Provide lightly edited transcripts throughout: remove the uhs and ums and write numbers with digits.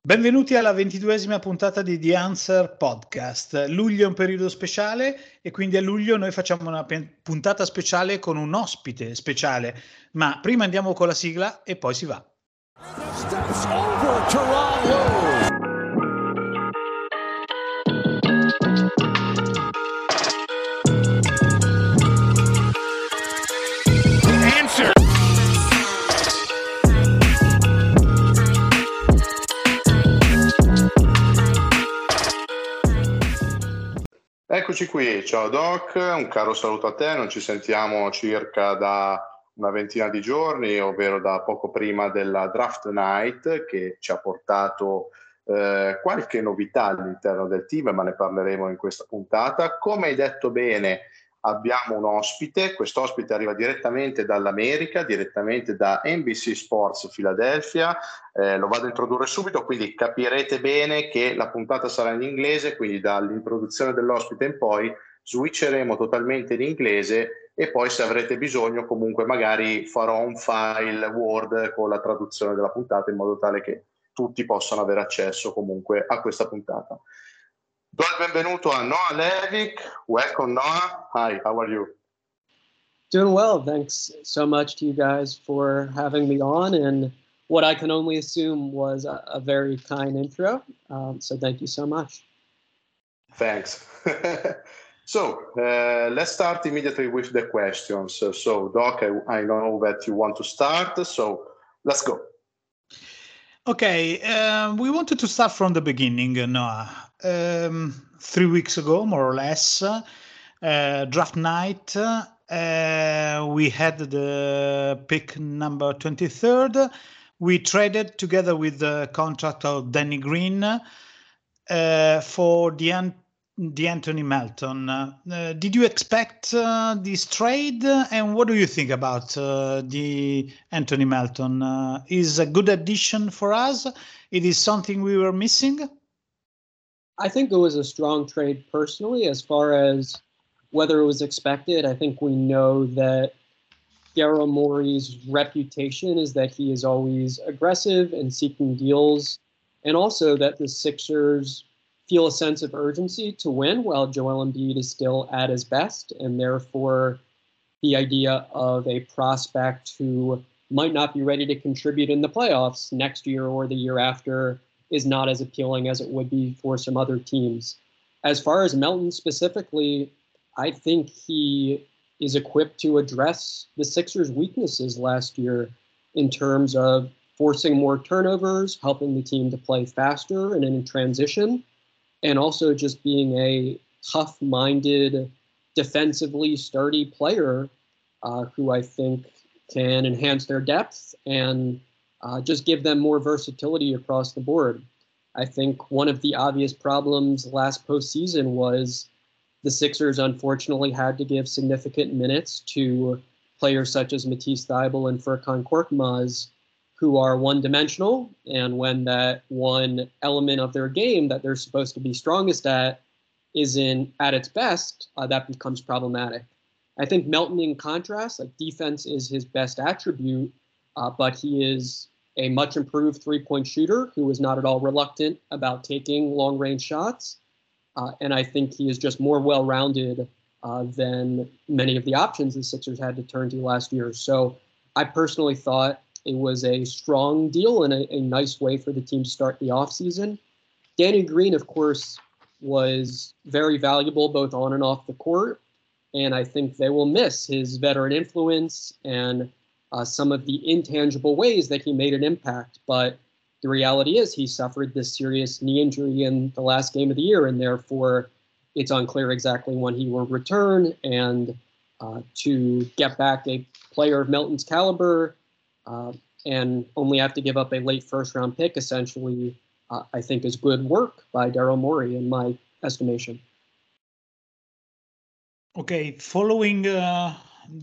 Benvenuti alla 22esima puntata di The Answer Podcast. Luglio è un periodo speciale e quindi a luglio noi facciamo una puntata speciale con un ospite speciale. Ma prima andiamo con la sigla e poi si va. Steps over Toronto. Eccoci qui, ciao Doc, un caro saluto a te, non ci sentiamo circa da una ventina di giorni, ovvero da poco prima della Draft Night che ci ha portato qualche novità all'interno del team, ma ne parleremo in questa puntata. Come hai detto bene, abbiamo un ospite, quest'ospite arriva direttamente dall'America, direttamente da NBC Sports Philadelphia. Lo vado a introdurre subito, quindi capirete bene che la puntata sarà in inglese, quindi dall'introduzione dell'ospite in poi switcheremo totalmente in inglese e poi se avrete bisogno comunque magari farò un file Word con la traduzione della puntata in modo tale che tutti possano avere accesso comunque a questa puntata. Do il benvenuto a Noah Levick. Welcome Noah. Hi, how are you? Doing well. Thanks so much to you guys for having me on, and what I can only assume was a very kind intro. So thank you so much. Thanks. So let's start immediately with the questions. So Doc, I know that you want to start, so let's go. Okay, we wanted to start from the beginning, Noah. 3 weeks ago, more or less, draft night, we had the pick number 23rd. We traded together with the contract of Danny Green for the Anthony Melton. Did you expect this trade, and what do you think about the Anthony Melton? Is a good addition for us? It is something we were missing? I think it was a strong trade personally. As far as whether it was expected, I think we know that Daryl Morey's reputation is that he is always aggressive and seeking deals, and also that the Sixers feel a sense of urgency to win while Joel Embiid is still at his best, and therefore the idea of a prospect who might not be ready to contribute in the playoffs next year or the year after is not as appealing as it would be for some other teams. As far as Melton specifically, I think he is equipped to address the Sixers' weaknesses last year in terms of forcing more turnovers, helping the team to play faster and in transition, and also just being a tough-minded, defensively sturdy player who I think can enhance their depth and just give them more versatility across the board. I think one of the obvious problems last postseason was the Sixers unfortunately had to give significant minutes to players such as Matisse Thybulle and Furkan Korkmaz, who are one-dimensional, and when that one element of their game that they're supposed to be strongest at isn't at its best, that becomes problematic. I think Melton, in contrast, like defense is his best attribute, but he is a much improved three-point shooter who is not at all reluctant about taking long-range shots, and I think he is just more well-rounded than many of the options the Sixers had to turn to last year. So I personally thought it was a strong deal and a nice way for the team to start the offseason. Danny Green, of course, was very valuable both on and off the court, and I think they will miss his veteran influence and some of the intangible ways that he made an impact. But the reality is he suffered this serious knee injury in the last game of the year, and therefore it's unclear exactly when he will return. And to get back a player of Melton's caliber, and only have to give up a late first-round pick, essentially, I think is good work by Daryl Morey, in my estimation. Okay, following the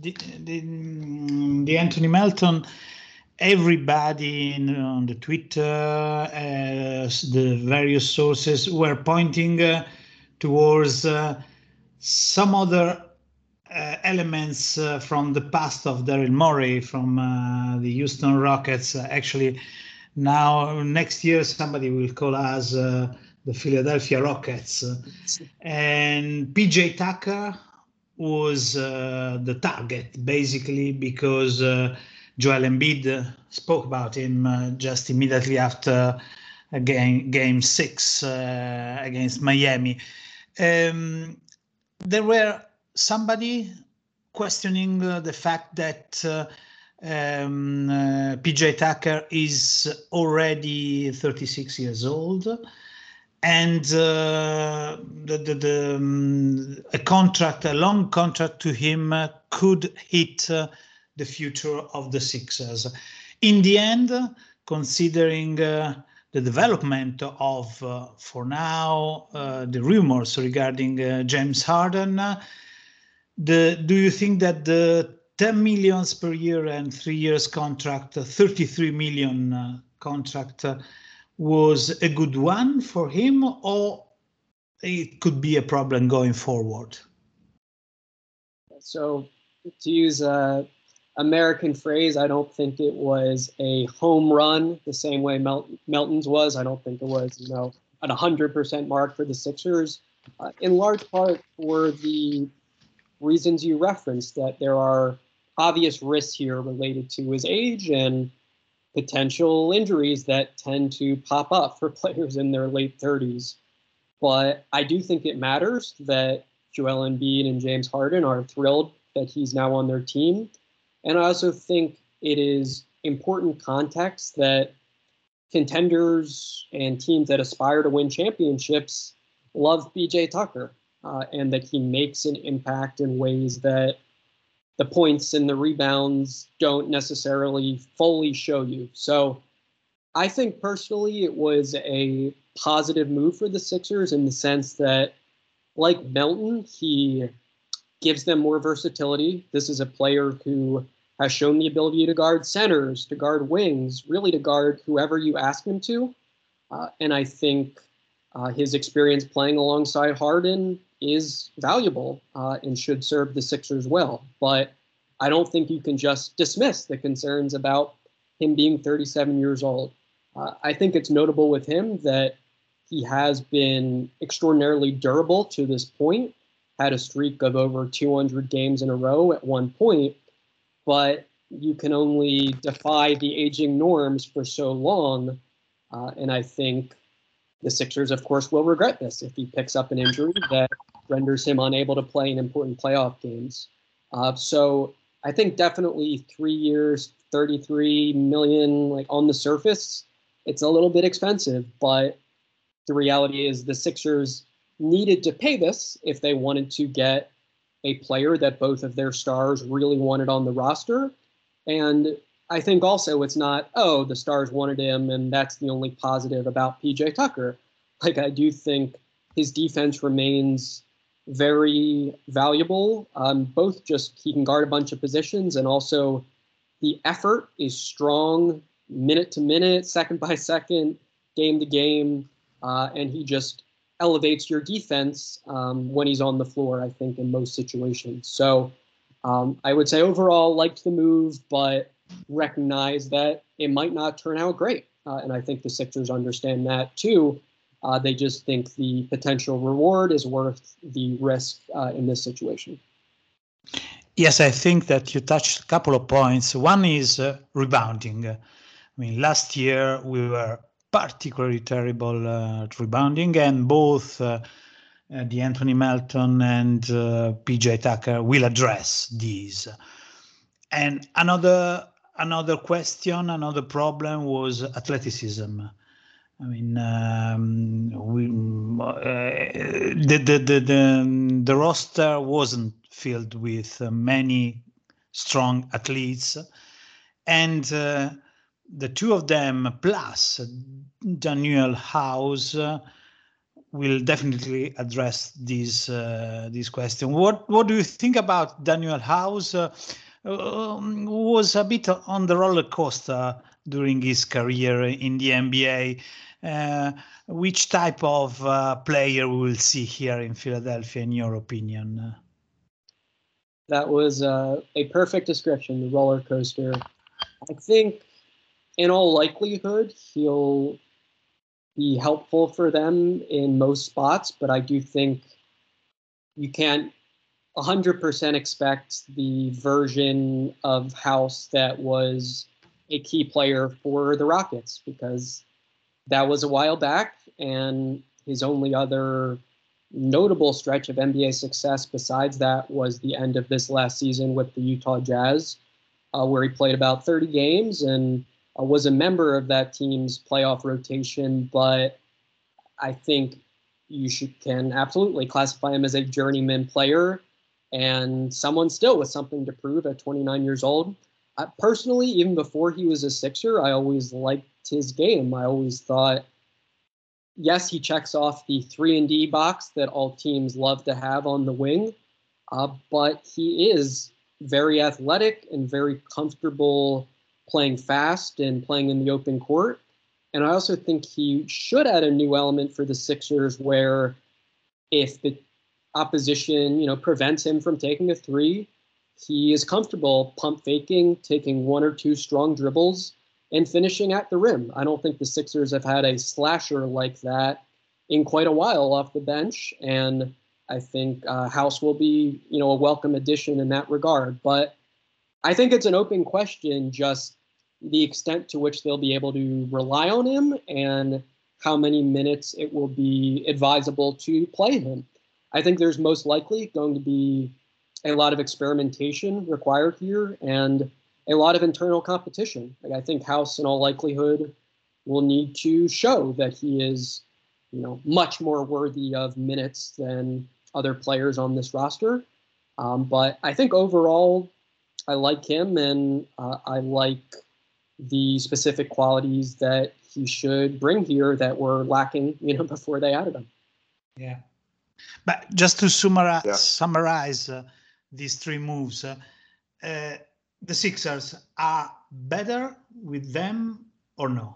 Anthony Melton, everybody on the Twitter, the various sources were pointing towards some other elements from the past of Daryl Morey from the Houston Rockets. Actually, Now, next year, somebody will call us the Philadelphia Rockets. And PJ Tucker was the target, basically, because Joel Embiid spoke about him just immediately after game 6 against Miami. There were somebody questioning the fact that PJ Tucker is already 36 years old, and a long contract to him could hit the future of the Sixers. In the end, considering the development of, for now, the rumors regarding James Harden, do you think that the 10 million per year and 3 years contract, 33 million contract, was a good one for him, or it could be a problem going forward? So, to use a American phrase, I don't think it was a home run the same way Melton's was. I don't think it was, at 100% mark for the Sixers, in large part for the reasons you referenced, that there are obvious risks here related to his age and potential injuries that tend to pop up for players in their late 30s. But I do think it matters that Joel Embiid and James Harden are thrilled that he's now on their team. And I also think it is important context that contenders and teams that aspire to win championships love PJ Tucker, and that he makes an impact in ways that the points and the rebounds don't necessarily fully show you. So I think personally it was a positive move for the Sixers in the sense that, like Melton, he gives them more versatility. This is a player who has shown the ability to guard centers, to guard wings, really to guard whoever you ask him to. And I think his experience playing alongside Harden is valuable and should serve the Sixers well. But I don't think you can just dismiss the concerns about him being 37 years old. I think it's notable with him that he has been extraordinarily durable to this point, had a streak of over 200 games in a row at one point, but you can only defy the aging norms for so long. And I think the Sixers, of course, will regret this if he picks up an injury that renders him unable to play in important playoff games. So I think definitely 3 years, 33 million, like on the surface, it's a little bit expensive, but the reality is the Sixers needed to pay this if they wanted to get a player that both of their stars really wanted on the roster. And I think also it's not, oh, the stars wanted him and that's the only positive about PJ Tucker. Like, I do think his defense remains very valuable. Both just he can guard a bunch of positions, and also the effort is strong, minute to minute, second by second, game to game, and he just elevates your defense when he's on the floor, I think, in most situations. So I would say overall liked the move, but recognize that it might not turn out great. And I think the Sixers understand that too. They just think the potential reward is worth the risk in this situation. Yes, I think that you touched a couple of points. One is rebounding. I mean, last year we were particularly terrible at rebounding, and both Anthony Melton and PJ Tucker will address these. And another question, another problem was athleticism. I mean, the roster wasn't filled with many strong athletes, and the two of them plus Danuel House will definitely address this question. What do you think about Danuel House? Was a bit on the roller coaster during his career in the NBA. Which type of player we will see here in Philadelphia, in your opinion? That was a perfect description, the roller coaster. I think in all likelihood, he'll be helpful for them in most spots, but I do think you can't 100% expect the version of House that was a key player for the Rockets, because that was a while back, and his only other notable stretch of NBA success besides that was the end of this last season with the Utah Jazz, where he played about 30 games and was a member of that team's playoff rotation. But I think you can absolutely classify him as a journeyman player and someone still with something to prove at 29 years old. Personally, even before he was a Sixer, I always liked his game. I always thought, yes, he checks off the 3-and-D box that all teams love to have on the wing, but he is very athletic and very comfortable playing fast and playing in the open court. And I also think he should add a new element for the Sixers where if the opposition, prevents him from taking a three, he is comfortable pump faking, taking one or two strong dribbles, and finishing at the rim. I don't think the Sixers have had a slasher like that in quite a while off the bench, and I think House will be, a welcome addition in that regard. But I think it's an open question, just the extent to which they'll be able to rely on him and how many minutes it will be advisable to play him. I think there's most likely going to be a lot of experimentation required here and a lot of internal competition. I think House, in all likelihood, will need to show that he is, much more worthy of minutes than other players on this roster. But I think overall, I like him, and I like the specific qualities that he should bring here that were lacking, before they added him. Yeah. But just to summarize these three moves, the Sixers are better with them or no?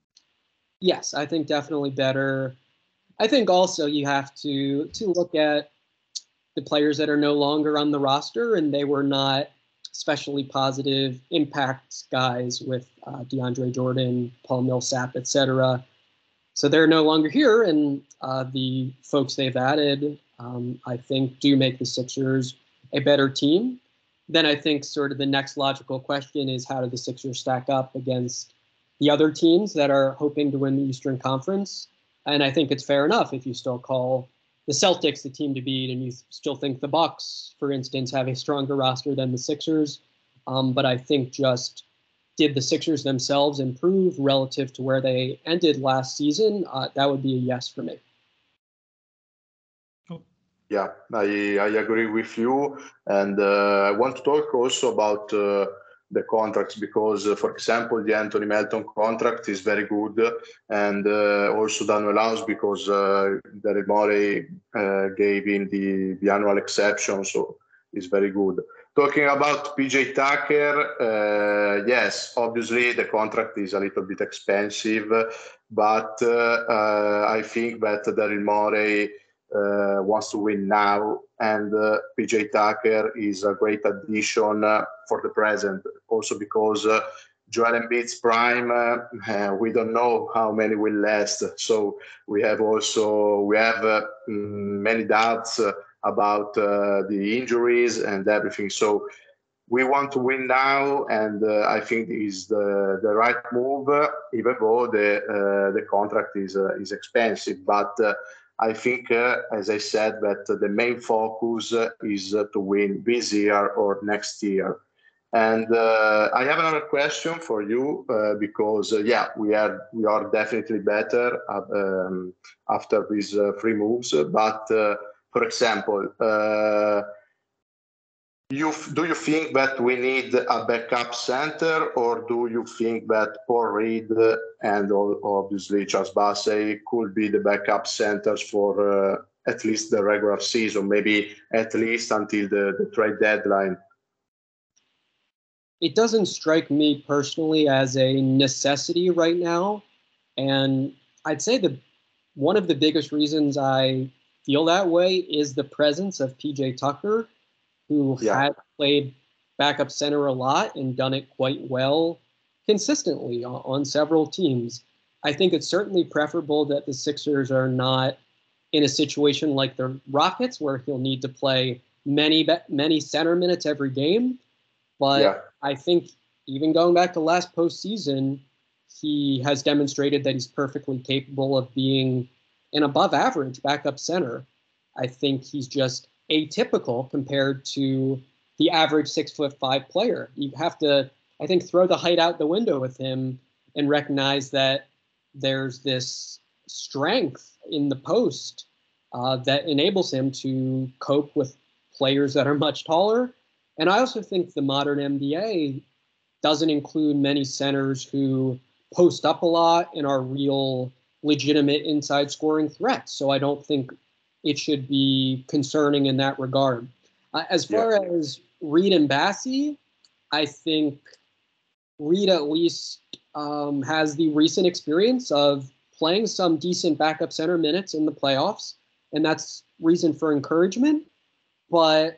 Yes, I think definitely better. I think also you have to look at the players that are no longer on the roster, and they were not especially positive impact guys with DeAndre Jordan, Paul Millsap, etc. So they're no longer here, and the folks they've added, I think, do make the Sixers a better team. Then I think sort of the next logical question is, how do the Sixers stack up against the other teams that are hoping to win the Eastern Conference? And I think it's fair enough if you still call the Celtics the team to beat, and you still think the Bucks, for instance, have a stronger roster than the Sixers. But I think just, did the Sixers themselves improve relative to where they ended last season? That would be a yes for me. Yeah, I agree with you. And I want to talk also about the contracts, because, for example, the Anthony Melton contract is very good, and also Daniel House, because Daryl Morey gave him the annual exception, so it's very good. Talking about PJ Tucker, yes, obviously the contract is a little bit expensive, but I think that Daryl Morey wants to win now, and PJ Tucker is a great addition for the present, also because Joel Embiid's prime, we don't know how many will last, so we have many doubts about the injuries and everything. So we want to win now, and I think is the right move, even though the contract is expensive. But I think, as I said, that the main focus is to win this year or next year. And I have another question for you, because we are definitely better after these three moves. But for example, do you think that we need a backup center, or do you think that Paul Reed and obviously Charles Bassey could be the backup centers for at least the regular season, maybe at least until the trade deadline? It doesn't strike me personally as a necessity right now. And I'd say one of the biggest reasons I feel that way is the presence of PJ Tucker, who had played backup center a lot and done it quite well consistently on several teams. I think it's certainly preferable that the Sixers are not in a situation like the Rockets, where he'll need to play many center minutes every game. But I think even going back to last postseason, he has demonstrated that he's perfectly capable of being an above average backup center. I think he's just atypical compared to the average 6'5" player. You have to, I think, throw the height out the window with him and recognize that there's this strength in the post that enables him to cope with players that are much taller. And I also think the modern NBA doesn't include many centers who post up a lot and are real legitimate inside scoring threats. So I don't think it should be concerning in that regard. As far as Reed and Bassey, I think Reed at least has the recent experience of playing some decent backup center minutes in the playoffs, and that's reason for encouragement. But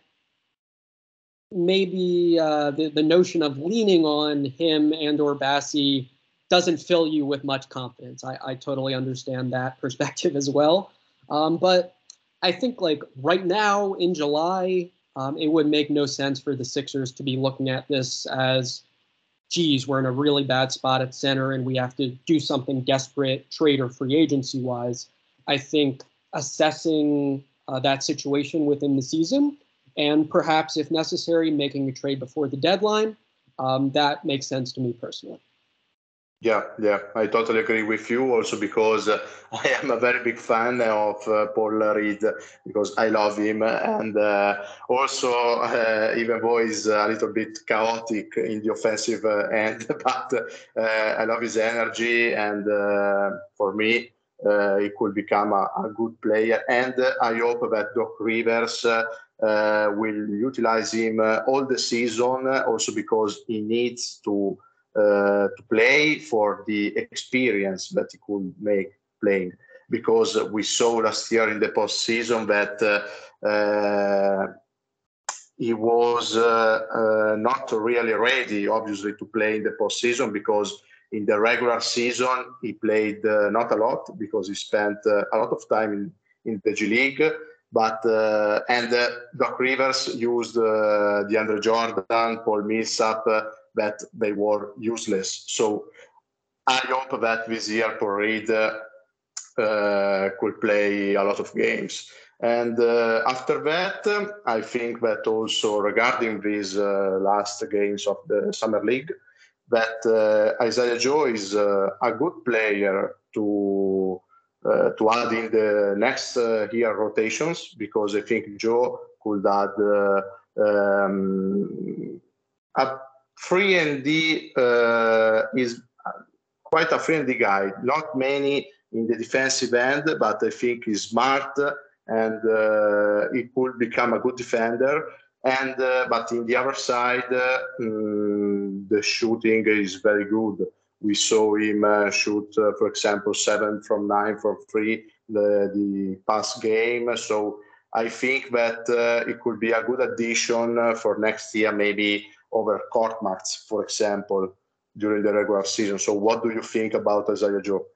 maybe the notion of leaning on him and or Bassey doesn't fill you with much confidence. I totally understand that perspective as well. But I think like right now in July, it would make no sense for the Sixers to be looking at this as, geez, we're in a really bad spot at center and we have to do something desperate trade or free agency wise. I think assessing that situation within the season and perhaps if necessary, making a trade before the deadline, that makes sense to me personally. Yeah, I totally agree with you also because I am a very big fan of Paul Reed because I love him and also even though he's a little bit chaotic in the offensive end, but I love his energy and for me he could become a good player and I hope that Doc Rivers will utilize him all the season also because he needs to play for the experience that he could make playing. Because we saw last year in the postseason that he was not really ready, obviously, to play in the postseason because in the regular season he played not a lot because he spent a lot of time in the G League. But Doc Rivers used DeAndre Jordan, Paul Millsap, that they were useless. So I hope that this year Paul Reed could play a lot of games. And after that, I think that also regarding these last games of the Summer League, that Isaiah Joe is a good player to add in the next year rotations because I think Joe could add a 3-and-D is quite a 3-and-D guy. Not many in the defensive end, but I think he's smart and he could become a good defender. And but in the other side, the shooting is very good. We saw him shoot, for example, 7 from 9 from 3 the past game. So I think that it could be a good addition for next year, maybe over Korkmaz, for example, during the regular season. So what do you think about Isaiah Joe?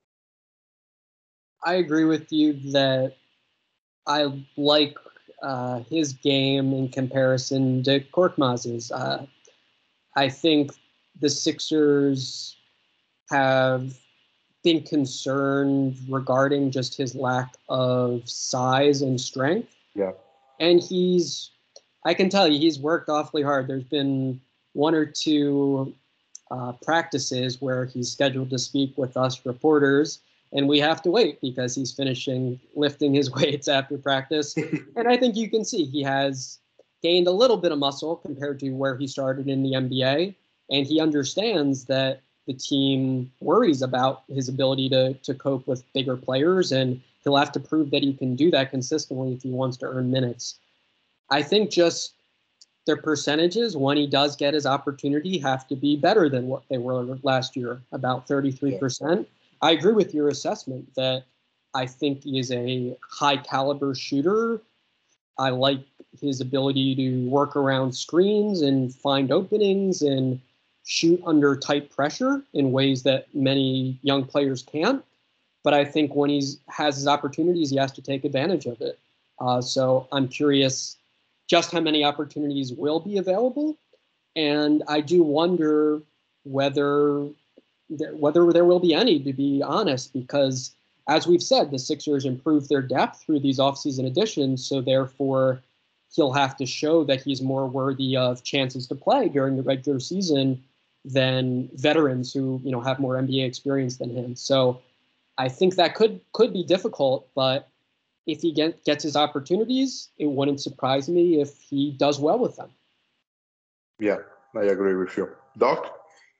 I agree with you that I like his game in comparison to Korkmaz's. I think the Sixers have been concerned regarding just his lack of size and strength. Yeah. And I can tell you, he's worked awfully hard. There's been 1 or 2 practices where he's scheduled to speak with us reporters, and we have to wait because he's finishing lifting his weights after practice. And I think you can see he has gained a little bit of muscle compared to where he started in the NBA, and he understands that the team worries about his ability to cope with bigger players, and he'll have to prove that he can do that consistently if he wants to earn minutes. I think just their percentages, when he does get his opportunity, have to be better than what they were last year, about 33%. Yeah. I agree with your assessment that I think he is a high caliber shooter. I like his ability to work around screens and find openings and shoot under tight pressure in ways that many young players can't. But I think when he has his opportunities, he has to take advantage of it. So I'm curious just how many opportunities will be available. And I do wonder whether there will be any, to be honest, because as we've said, the Sixers improved their depth through these offseason additions. So therefore, he'll have to show that he's more worthy of chances to play during the regular season than veterans who, have more NBA experience than him. So I think that could be difficult, but if he gets his opportunities, it wouldn't surprise me if he does well with them. Yeah, I agree with you. Doc?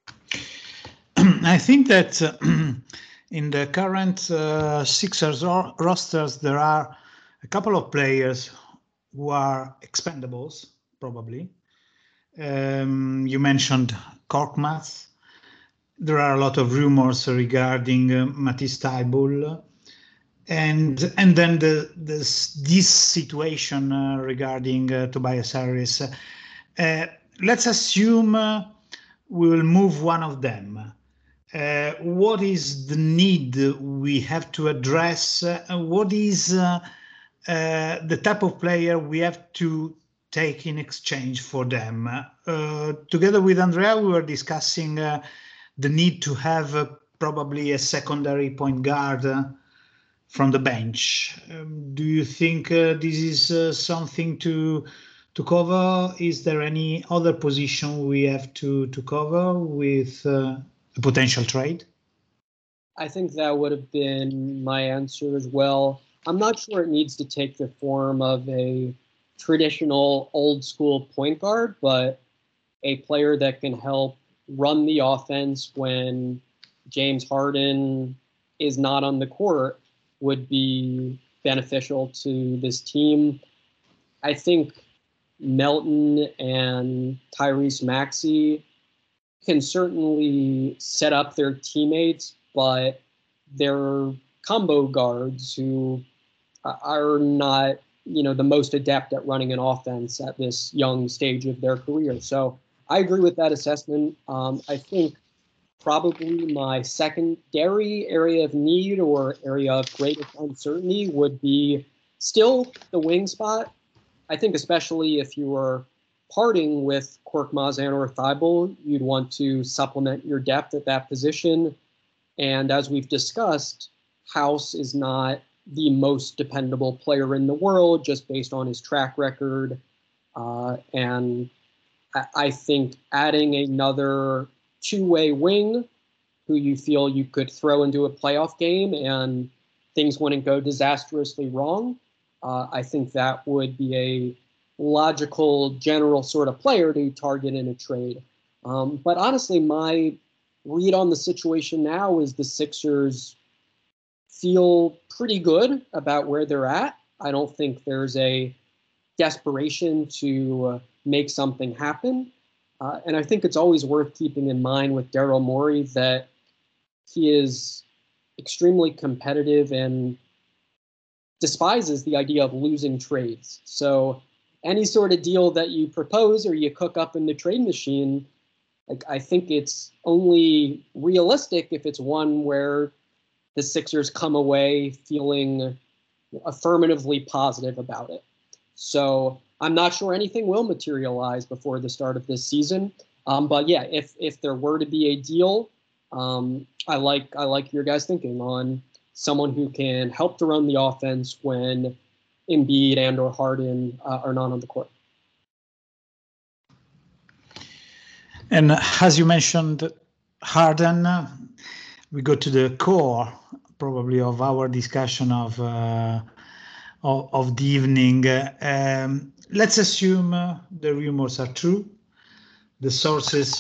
I think that in the current Sixers rosters, there are a couple of players who are expendables, probably. You mentioned Korkmaz. There are a lot of rumors regarding Matisse Thybulle. And then this situation regarding Tobias Harris. Let's assume we will move one of them. What is the need we have to address? What is the type of player we have to take in exchange for them? Together with Andrea, we were discussing the need to have probably a secondary point guard from the bench. Do you think this is something to cover? Is there any other position we have to cover with a potential trade? I think that would have been my answer as well. I'm not sure it needs to take the form of a traditional old school point guard, but a player that can help run the offense when James Harden is not on the court would be beneficial to this team. I think Melton and Tyrese Maxey can certainly set up their teammates, but they're combo guards who are not, the most adept at running an offense at this young stage of their career. So I agree with that assessment. I think probably my secondary area of need or area of greatest uncertainty would be still the wing spot. I think especially if you were parting with Korkmaz or Thybulle, you'd want to supplement your depth at that position. And as we've discussed, House is not the most dependable player in the world just based on his track record. And I think adding another two-way wing who you feel you could throw into a playoff game and things wouldn't go disastrously wrong, I think that would be a logical general sort of player to target in a trade. But honestly, my read on the situation now is the Sixers feel pretty good about where they're at. I don't think there's a desperation to make something happen. And I think it's always worth keeping in mind with Daryl Morey that he is extremely competitive and despises the idea of losing trades. So any sort of deal that you propose or you cook up in the trade machine, I think it's only realistic if it's one where the Sixers come away feeling affirmatively positive about it. So I'm not sure anything will materialize before the start of this season. But yeah, if there were to be a deal, I like your guys' thinking on someone who can help to run the offense when Embiid and or Harden are not on the court. And as you mentioned, Harden, we go to the core probably of our discussion of the evening. Let's assume the rumors are true. The sources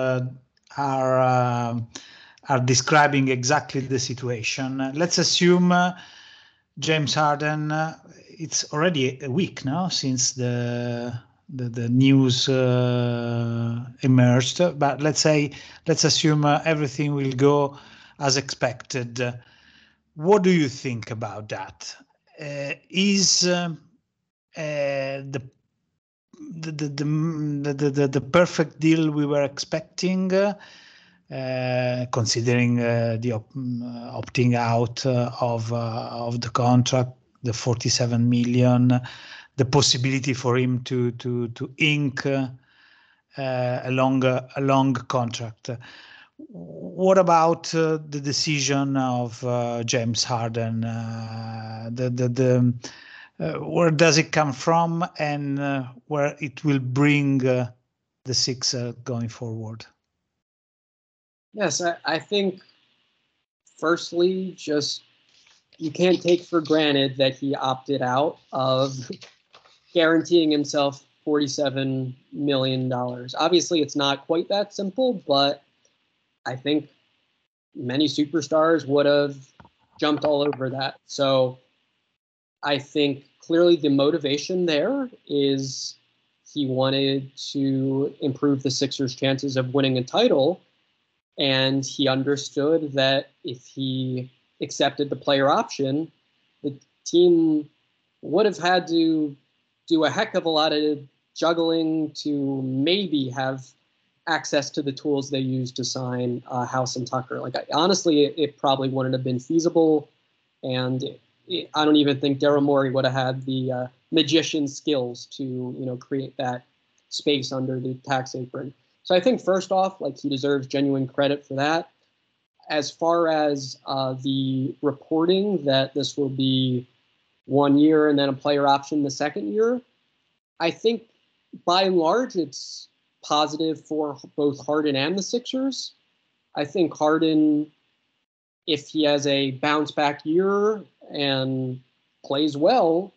are describing exactly the situation. Let's assume James Harden. It's already a week now since the news emerged, but let's assume everything will go as expected. What do you think about that? Is the the perfect deal we were expecting, considering the opting out of the contract, the 47 million, the possibility for him to ink a long contract. What about the decision of James Harden? Where does it come from, and where it will bring the Sixers going forward? Yes, I think firstly, just you can't take for granted that he opted out of guaranteeing himself $47 million. Obviously, it's not quite that simple, but I think many superstars would have jumped all over that. So I think clearly the motivation there is he wanted to improve the Sixers' chances of winning a title. And he understood that if he accepted the player option, the team would have had to do a heck of a lot of juggling to maybe have access to the tools they used to sign House and Tucker. Honestly, it probably wouldn't have been feasible. And I don't even think Daryl Morey would have had the magician skills to, create that space under the tax apron. So I think first off, he deserves genuine credit for that. As far as the reporting that this will be 1 year and then a player option the second year, I think by and large it's positive for both Harden and the Sixers. I think Harden, if he has a bounce back year and plays well,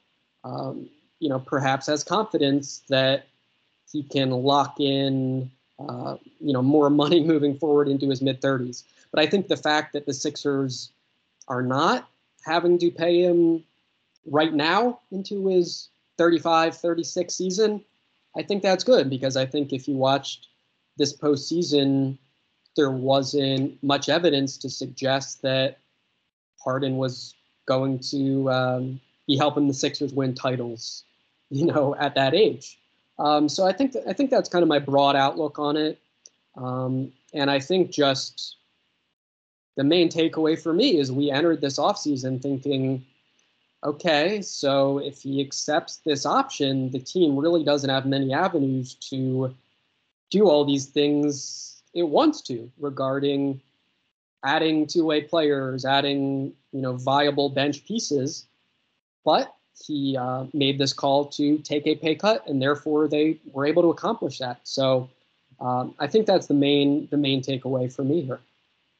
perhaps has confidence that he can lock in more money moving forward into his mid-30s. But I think the fact that the Sixers are not having to pay him right now into his 35, 36 season, I think that's good, because I think if you watched this postseason, there wasn't much evidence to suggest that Harden was going to be helping the Sixers win titles, at that age. So I think that's kind of my broad outlook on it. And I think just the main takeaway for me is we entered this offseason thinking, okay, so if he accepts this option, the team really doesn't have many avenues to do all these things it wants to regarding adding two-way players, adding, viable bench pieces. But he made this call to take a pay cut, and therefore they were able to accomplish that. So I think that's the main takeaway for me here.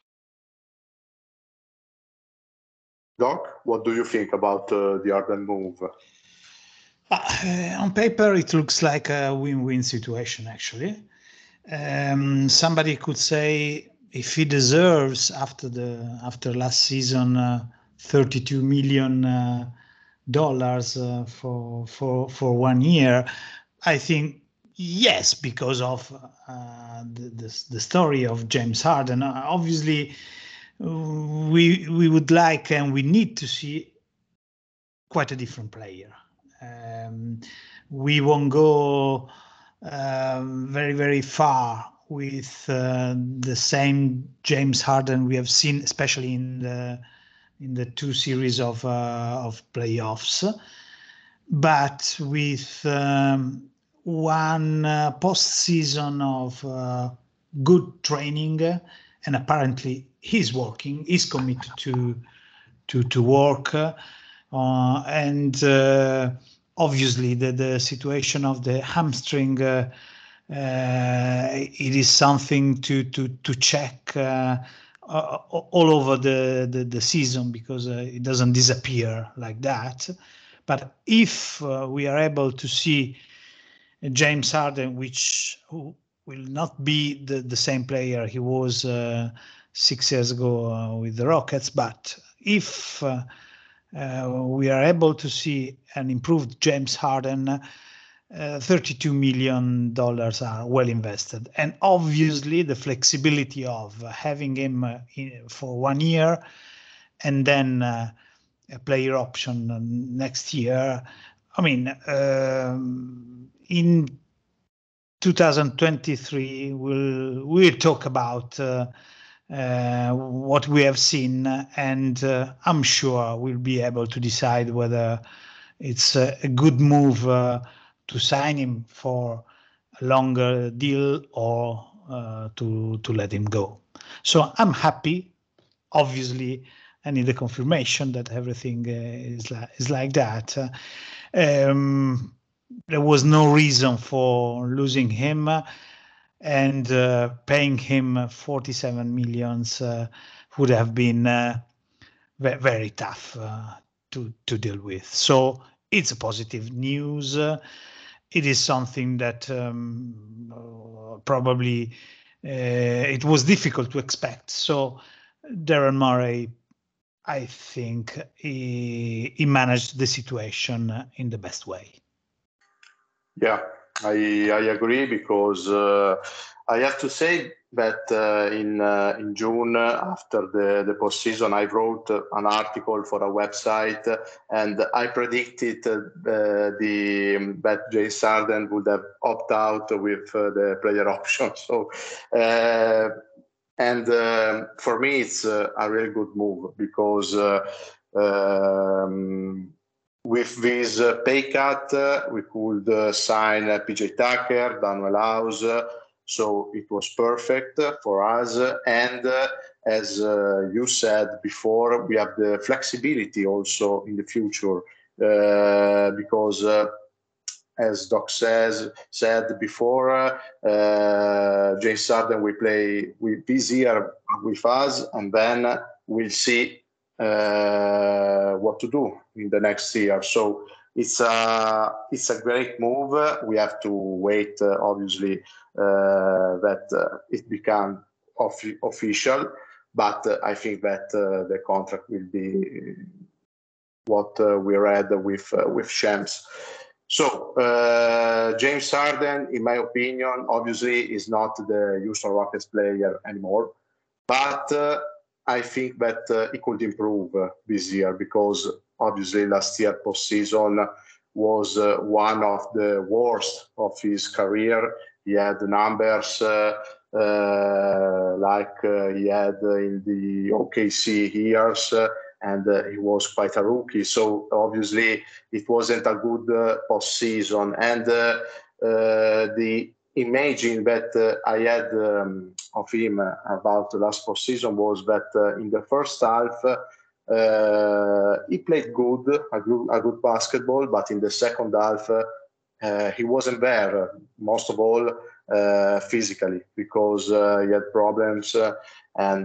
Doc, what do you think about the Harden move? On paper, it looks like a win-win situation, actually. Somebody could say if he deserves after last season $32 million for 1 year, I think yes, because of the story of James Harden. Obviously, we would like and we need to see quite a different player. We won't go very, very far with the same James Harden we have seen, especially in the two series of playoffs, but with one postseason of good training, and apparently he's committed to work, and obviously the situation of the hamstring, it is something to check all over the season, because it doesn't disappear like that. But if we are able to see James Harden, who will not be the same player he was 6 years ago with the Rockets, but if we are able to see an improved James Harden, $32 million are well invested. And obviously the flexibility of having him for 1 year and then a player option next year I mean, in 2023, we'll talk about what we have seen, and I'm sure we'll be able to decide whether it's a good move to sign him for a longer deal or to let him go. So I'm happy. Obviously, I need a confirmation that everything is like that. There was no reason for losing him, and paying him 47 millions would have been very tough to deal with. So it's a positive news. It is something that probably it was difficult to expect. So Daryl Morey, I think he managed the situation in the best way. Yeah, I agree, because I have to say that in June, after the postseason, I wrote an article for a website, and I predicted that James Harden would have opted out with the player option. So. And for me, it's a really good move, because with this pay cut, we could sign PJ Tucker, Danuel House, so it was perfect for us. And as you said before, we have the flexibility also in the future, because as Doc said before, James Harden will play this year with us, and then we'll see what to do in the next year. So it's a great move. We have to wait, obviously, that it become official. But I think that the contract will be what we read with Shams. So James Harden, in my opinion, obviously is not the Houston Rockets player anymore, but I think that he could improve this year, because obviously last year postseason was one of the worst of his career. He had numbers like he had in the OKC years, and he was quite a rookie. So obviously it wasn't a good postseason. And the imagine that I had of him about the last postseason was that in the first half he played a good basketball, but in the second half he wasn't there, most of all physically, because he had problems, and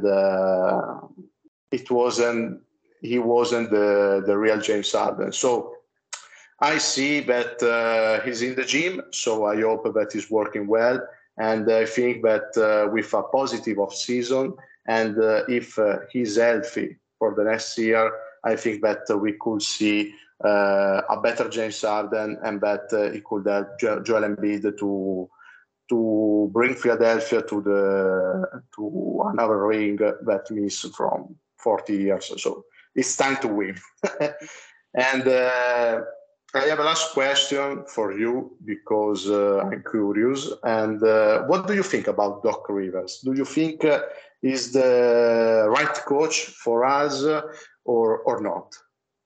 he wasn't the real James Harden. So I see that he's in the gym, so I hope that he's working well. And I think that with a positive off-season, and if he's healthy for the next year, I think that we could see a better James Harden, and that he could help Joel Embiid to bring Philadelphia to another ring that missed from 40 years or so. It's time to win. And I have a last question for you, because I'm curious. And what do you think about Doc Rivers? Do you think he's the right coach for us or not?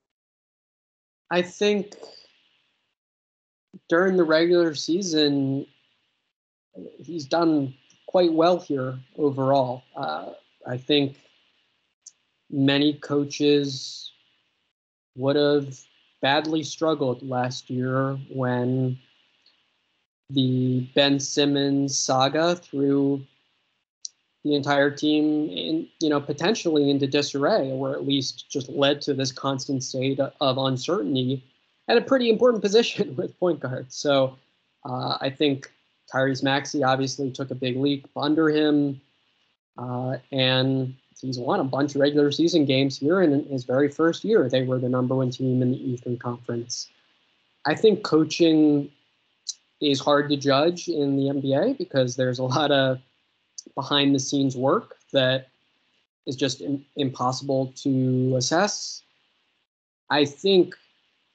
I think during the regular season, he's done quite well here overall. I think many coaches would have badly struggled last year when the Ben Simmons saga threw the entire team in, potentially into disarray, or at least just led to this constant state of uncertainty at a pretty important position with point guard. So I think Tyrese Maxey obviously took a big leap under him, and he's won a bunch of regular season games here. And in his very first year, they were the number one team in the Eastern Conference. I think coaching is hard to judge in the NBA because there's a lot of behind the scenes work that is just impossible to assess. I think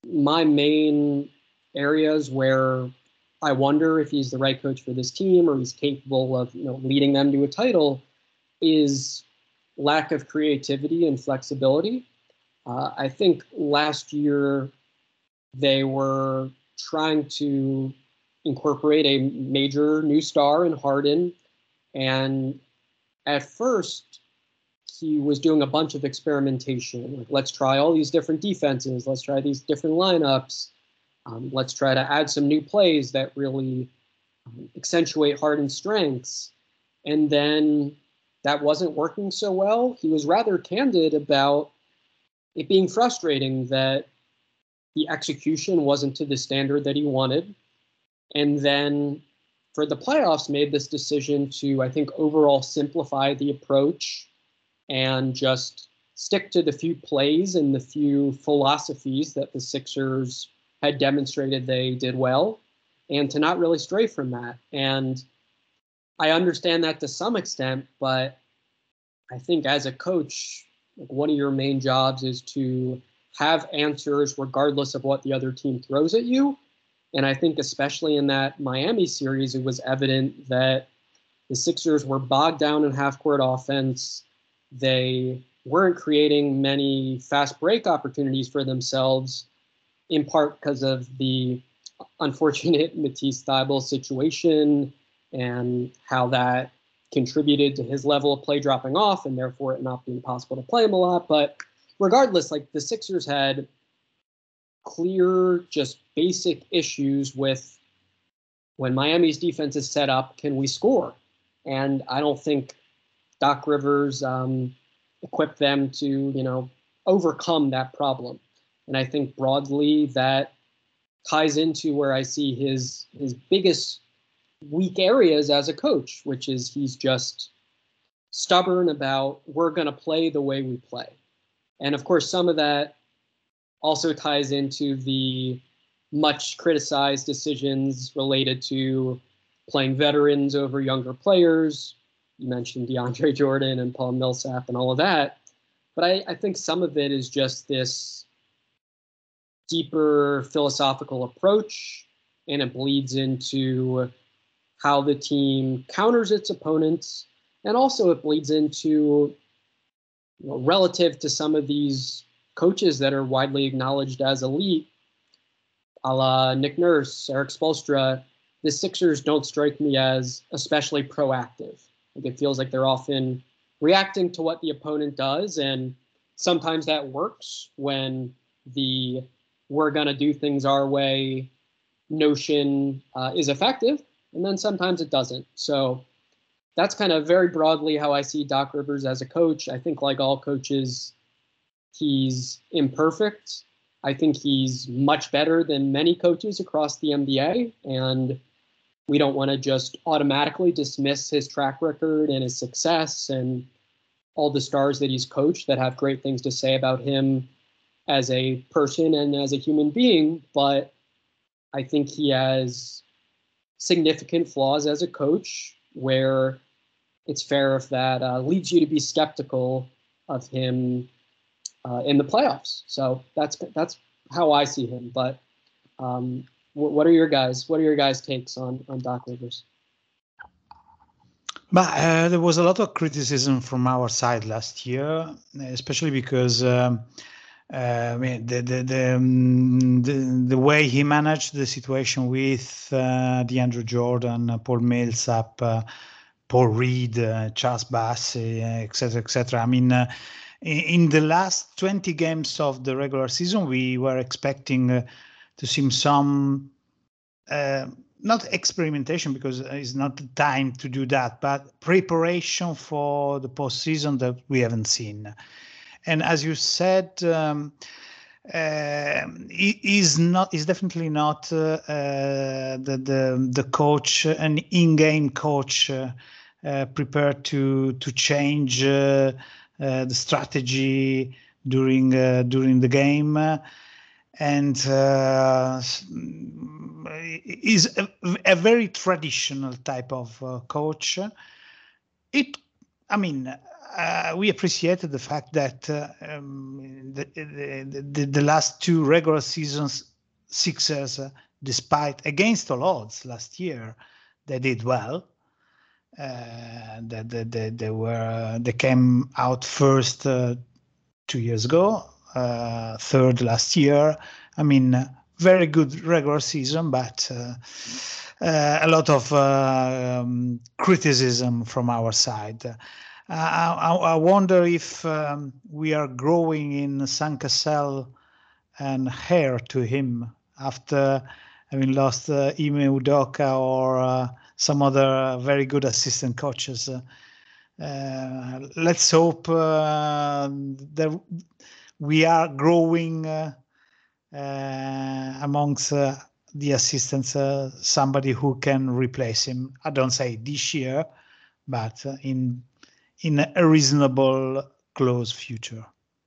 my main areas where I wonder if he's the right coach for this team or he's capable of leading them to a title is lack of creativity and flexibility. I think last year they were trying to incorporate a major new star in Harden, and at first he was doing a bunch of experimentation. Like, let's try all these different defenses. Let's try these different lineups. Let's try to add some new plays that really accentuate Harden's strengths. And then that wasn't working so well. He was rather candid about it being frustrating that the execution wasn't to the standard that he wanted. And then for the playoffs, made this decision to, I think, overall simplify the approach and just stick to the few plays and the few philosophies that the Sixers had demonstrated they did well, and to not really stray from that. And I understand that to some extent, but I think as a coach, like, one of your main jobs is to have answers regardless of what the other team throws at you. And I think especially in that Miami series, it was evident that the Sixers were bogged down in half-court offense. They weren't creating many fast break opportunities for themselves, in part because of the unfortunate Matisse Thybulle situation and how that contributed to his level of play dropping off and therefore it not being possible to play him a lot. But regardless, like, the Sixers had clear, just basic issues with when Miami's defense is set up, can we score? And I don't think Doc Rivers equipped them to, overcome that problem. And I think broadly that ties into where I see his biggest weak areas as a coach, which is he's just stubborn about we're going to play the way we play. And of course, some of that also ties into the much criticized decisions related to playing veterans over younger players. You mentioned DeAndre Jordan and Paul Millsap and all of that. But I think some of it is just this deeper philosophical approach, and it bleeds into how the team counters its opponents. And also it bleeds into, relative to some of these coaches that are widely acknowledged as elite, a la Nick Nurse, Eric Spoelstra, the Sixers don't strike me as especially proactive. Like, it feels like they're often reacting to what the opponent does, and sometimes that works when the we're going to do things our way notion is effective, and then sometimes it doesn't. So that's kind of very broadly how I see Doc Rivers as a coach. I think, like all coaches, he's imperfect. I think he's much better than many coaches across the NBA, and we don't want to just automatically dismiss his track record and his success and all the stars that he's coached that have great things to say about him as a person and as a human being. But I think he has significant flaws as a coach where it's fair if that leads you to be skeptical of him in the playoffs. So that's how I see him. But what are your guys' takes on Doc Rivers? But there was a lot of criticism from our side last year, especially because the way he managed the situation with DeAndre Jordan, Paul Millsap, Paul Reed, Charles Bassey, etc. I mean, in the last 20 games of the regular season, we were expecting to see some, not experimentation because it's not the time to do that, but preparation for the postseason that we haven't seen. And as you said, he's definitely not the coach, an in-game coach prepared to change the strategy during the game, and is a very traditional type of coach. we appreciated the fact that the last two regular seasons Sixers, despite against all odds last year, they did well. They came out first 2 years ago, third last year. I mean, very good regular season, but a lot of criticism from our side. I wonder if we are growing in Sam Cassell and heir to him after having lost Ime Udoka or some other very good assistant coaches. Let's hope that we are growing amongst the assistants, somebody who can replace him. I don't say this year, but in a reasonable close future.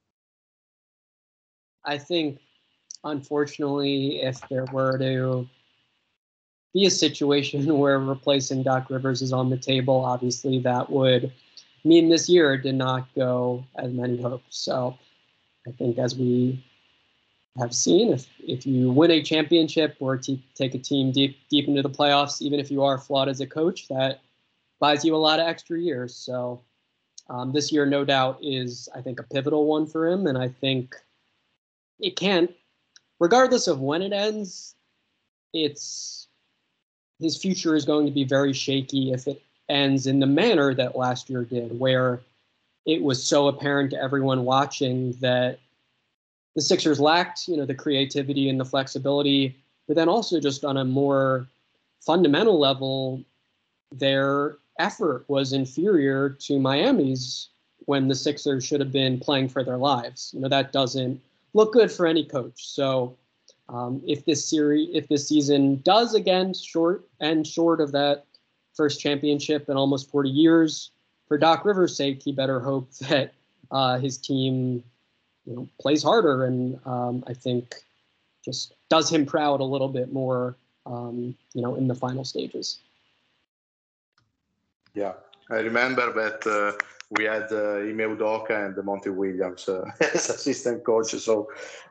I think, unfortunately, if there were to be a situation where replacing Doc Rivers is on the table, obviously that would mean this year did not go as many hopes. So I think, as we have seen, if you win a championship or take a team deep into the playoffs, even if you are flawed as a coach, that buys you a lot of extra years. So this year, no doubt, is, I think, a pivotal one for him. And I think it can't, regardless of when it ends, his future is going to be very shaky if it ends in the manner that last year did, where it was so apparent to everyone watching that the Sixers lacked, the creativity and the flexibility, but then also just on a more fundamental level, their effort was inferior to Miami's when the Sixers should have been playing for their lives. That doesn't look good for any coach. So if this season does again short of that first championship in almost 40 years, for Doc Rivers' sake, he better hope that his team plays harder and I think just does him proud a little bit more, in the final stages. Yeah, I remember that we had Ime Udoka and Monty Williams as assistant coach. So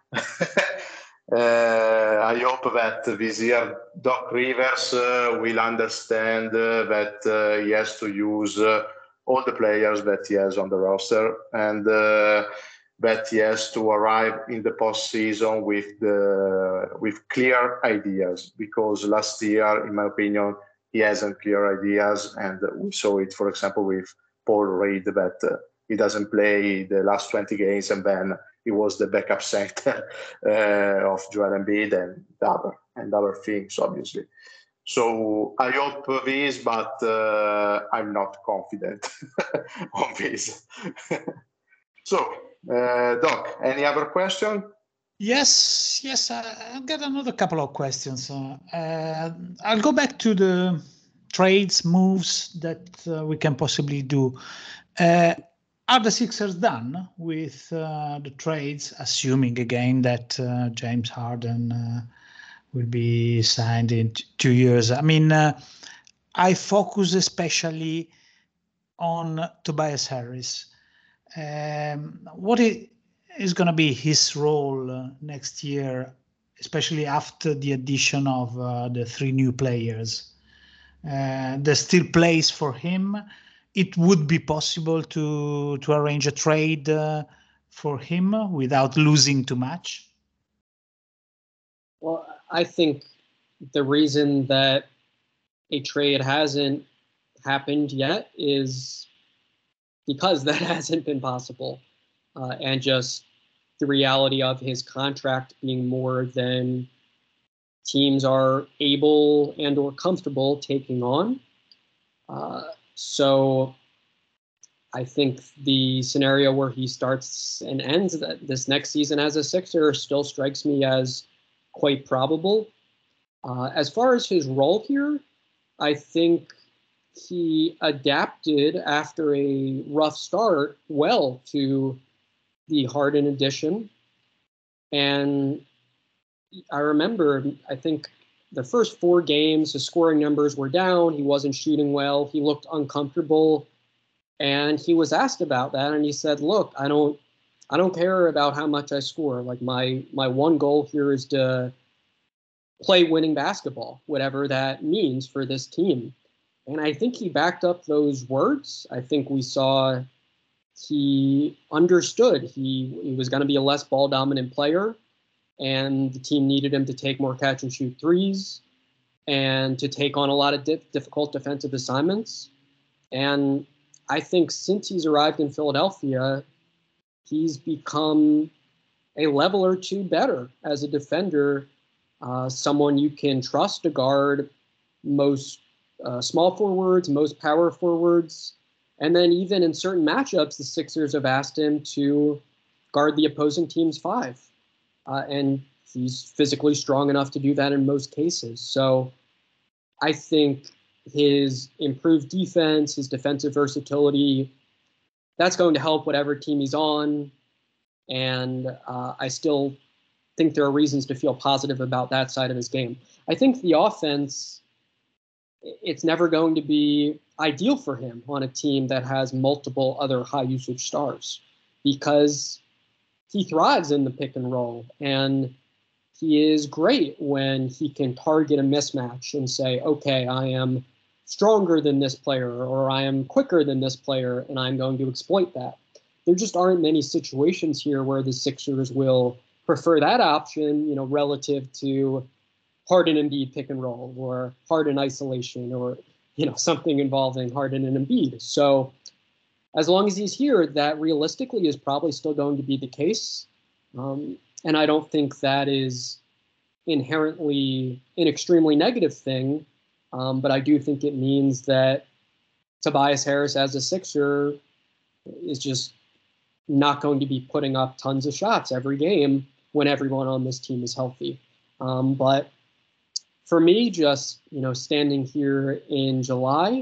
I hope that this year Doc Rivers will understand that he has to use all the players that he has on the roster, and that he has to arrive in the postseason with clear ideas. Because last year, in my opinion, he hasn't clear ideas, and we saw it, for example, with Paul Reed, that he doesn't play the last 20 games, and then he was the backup center of Joel Embiid and other things, obviously. So I hope this, but I'm not confident on this. So, Doc, any other question? Yes, I've got another couple of questions. I'll go back to the trades, moves that we can possibly do. Are the Sixers done with the trades, assuming again that James Harden will be signed in 2 years? I mean, I focus especially on Tobias Harris. What is going to be his role next year, especially after the addition of the 3 new players? There's still place for him. It would be possible to arrange a trade for him without losing too much? Well, I think the reason that a trade hasn't happened yet is because that hasn't been possible. And just the reality of his contract being more than teams are able and or comfortable taking on. So I think the scenario where he starts and ends this next season as a Sixer still strikes me as quite probable. As far as his role here, I think he adapted after a rough start well to the Harden addition. And I remember, I think the first 4 games, his scoring numbers were down. He wasn't shooting well. He looked uncomfortable. And he was asked about that, and he said, "Look, I don't care about how much I score. Like my one goal here is to play winning basketball, whatever that means for this team." And I think he backed up those words. I think we saw he understood he was going to be a less ball dominant player, and the team needed him to take more catch and shoot threes and to take on a lot of difficult defensive assignments. And I think since he's arrived in Philadelphia, he's become a level or two better as a defender, someone you can trust to guard most small forwards, most power forwards. And then even in certain matchups, the Sixers have asked him to guard the opposing team's five. And he's physically strong enough to do that in most cases. So I think his improved defense, his defensive versatility, that's going to help whatever team he's on. And I still think there are reasons to feel positive about that side of his game. I think the offense, it's never going to be ideal for him on a team that has multiple other high usage stars, because he thrives in the pick and roll, and he is great when he can target a mismatch and say, okay, I am stronger than this player, or I am quicker than this player, and I'm going to exploit that. There just aren't many situations here where the Sixers will prefer that option, relative to Harden and Embiid pick and roll, or Harden isolation, or something involving Harden and Embiid. So as long as he's here, that realistically is probably still going to be the case. And I don't think that is inherently an extremely negative thing. But I do think it means that Tobias Harris as a Sixer is just not going to be putting up tons of shots every game when everyone on this team is healthy. But for me, just, standing here in July,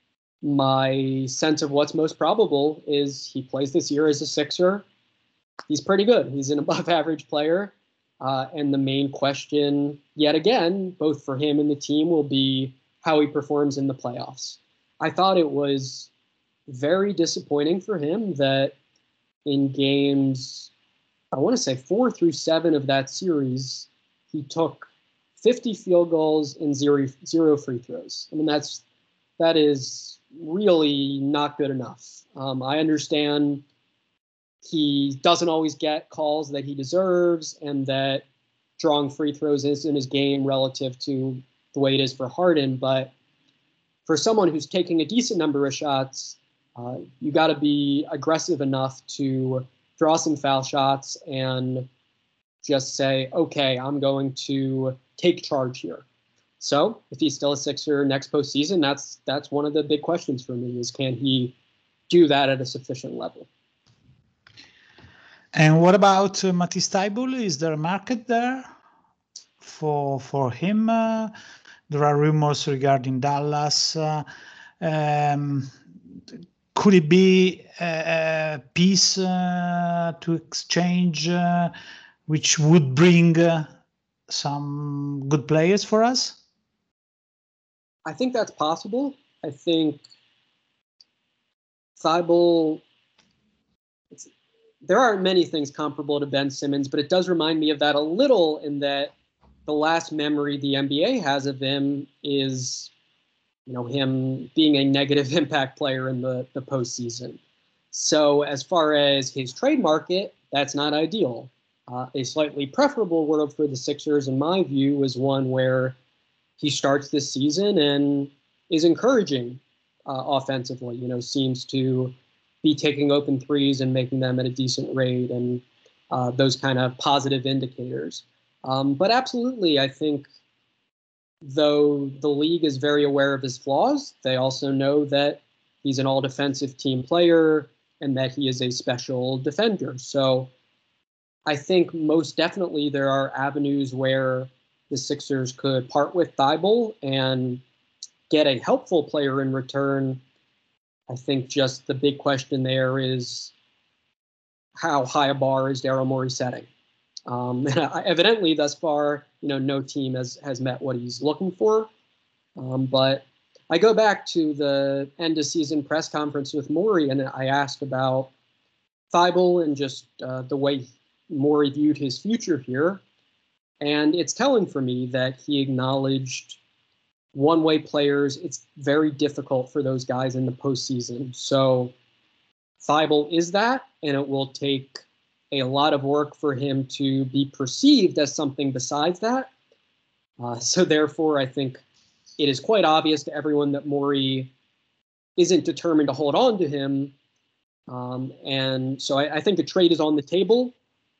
my sense of what's most probable is he plays this year as a Sixer. He's pretty good. He's an above average player. And the main question, yet again, both for him and the team, will be how he performs in the playoffs. I thought it was very disappointing for him that in games, I want to say 4 through 7 of that series, he took 50 field goals and zero free throws. I mean, that is really not good enough. I understand he doesn't always get calls that he deserves, and that drawing free throws isn't his game relative to the way it is for Harden. But for someone who's taking a decent number of shots, you got to be aggressive enough to draw some foul shots and just say, okay, I'm going to take charge here. So if he's still a Sixer next postseason, that's one of the big questions for me, is can he do that at a sufficient level? And what about Matisse Thybulle? Is there a market there for him? There are rumors regarding Dallas. Could it be a piece to exchange, which would bring some good players for us? I think that's possible. I think Thybulle, there aren't many things comparable to Ben Simmons, but it does remind me of that a little, in that the last memory the NBA has of him is, him being a negative impact player in the postseason. So as far as his trade market, that's not ideal. A slightly preferable world for the Sixers, in my view, is one where he starts this season and is encouraging offensively, seems to be taking open threes and making them at a decent rate, and those kind of positive indicators. But absolutely, I think, though the league is very aware of his flaws, they also know that he's an all-defensive team player and that he is a special defender. So I think most definitely there are avenues where the Sixers could part with Thybulle and get a helpful player in return. I think just the big question there is, how high a bar is Daryl Morey setting? Evidently, thus far, no team has met what he's looking for. But I go back to the end of season press conference with Morey, and I asked about Thybulle and just the way Morey viewed his future here. And it's telling for me that he acknowledged one-way players. It's very difficult for those guys in the postseason. So Thybulle is that, and it will take a lot of work for him to be perceived as something besides that. So therefore, I think it is quite obvious to everyone that Morey isn't determined to hold on to him. And so I think the trade is on the table,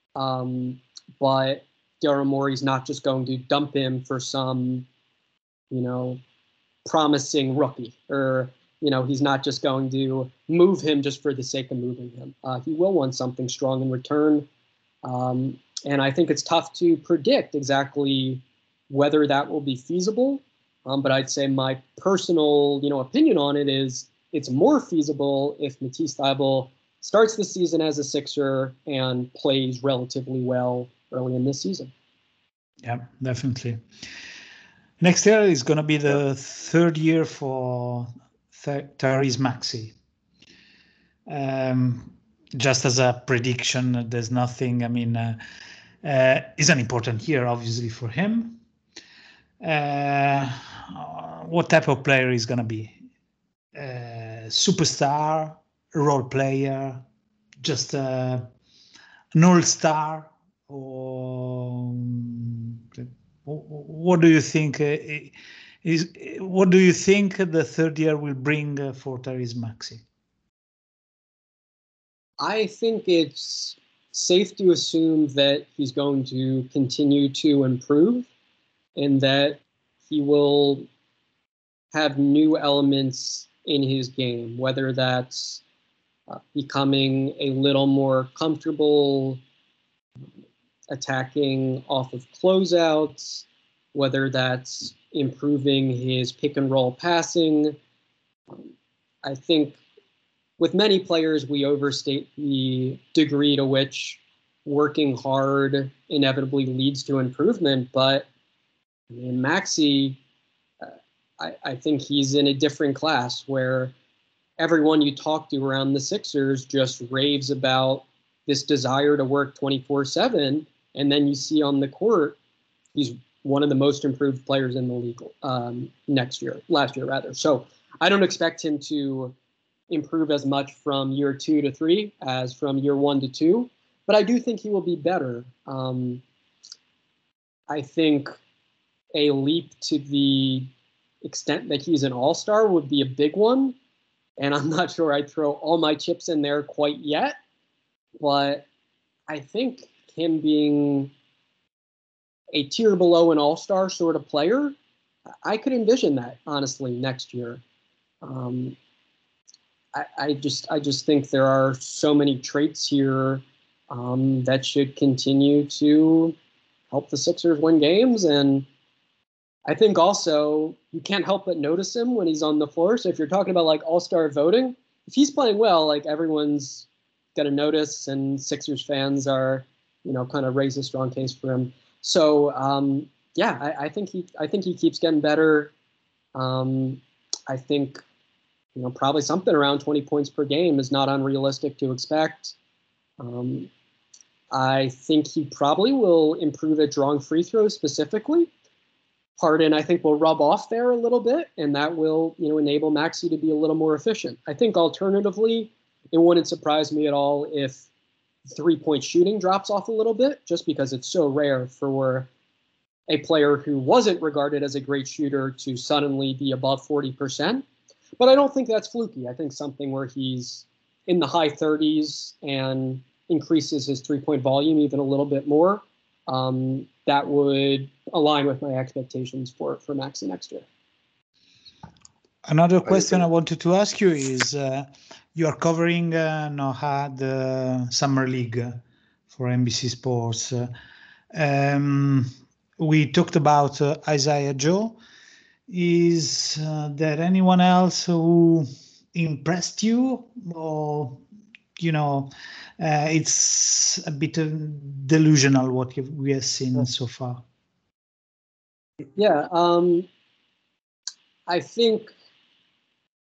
but Daryl Morey's not just going to dump him for some, promising rookie, or, he's not just going to move him just for the sake of moving him. He will want something strong in return. And I think it's tough to predict exactly whether that will be feasible. But I'd say my personal, opinion on it is it's more feasible if Matisse Thybulle starts the season as a Sixer and plays relatively well early in this season. Yeah, definitely. Next year is going to be the third year for Tyrese Maxey. Just as a prediction, there's nothing. I mean, it's an important year, obviously, for him. What type of player is going to be? Superstar, role player, just an all-star, or what do you think what do you think the third year will bring for Tyrese Maxey? I think it's safe to assume that he's going to continue to improve and that he will have new elements in his game, whether that's becoming a little more comfortable attacking off of closeouts, whether that's improving his pick and roll passing. I think with many players, we overstate the degree to which working hard inevitably leads to improvement. But in Maxey, I think he's in a different class where everyone you talk to around the Sixers just raves about this desire to work 24/7. And then you see on the court, he's one of the most improved players in the league last year rather. So I don't expect him to improve as much from year 2 to 3 as from year 1 to 2, but I do think he will be better. I think a leap to the extent that he's an all-star would be a big one, and I'm not sure I'd throw all my chips in there quite yet, but I think him being a tier below an all-star sort of player, I could envision that, honestly, next year. I just think there are so many traits here that should continue to help the Sixers win games. And I think also you can't help but notice him when he's on the floor. So if you're talking about like all-star voting, if he's playing well, like everyone's going to notice, and Sixers fans are, kind of raise a strong case for him. So I think he keeps getting better. I think, probably something around 20 points per game is not unrealistic to expect. I think he probably will improve at drawing free throws specifically. Harden, I think, will rub off there a little bit, and that will, enable Maxey to be a little more efficient. I think alternatively, it wouldn't surprise me at all if three-point shooting drops off a little bit, just because it's so rare for a player who wasn't regarded as a great shooter to suddenly be above 40%. But I don't think that's fluky. I think something where he's in the high 30s and increases his three-point volume even a little bit more, that would align with my expectations for Maxey next year. Another question I wanted to ask you is, you are covering the Summer League for NBC Sports. We talked about Isaiah Joe. Is there anyone else who impressed you, or it's a bit delusional what we have seen so far? Yeah, I think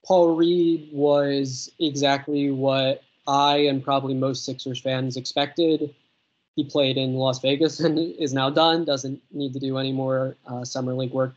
Paul Reed was exactly what I and probably most Sixers fans expected. He played in Las Vegas and is now done, doesn't need to do any more summer league work.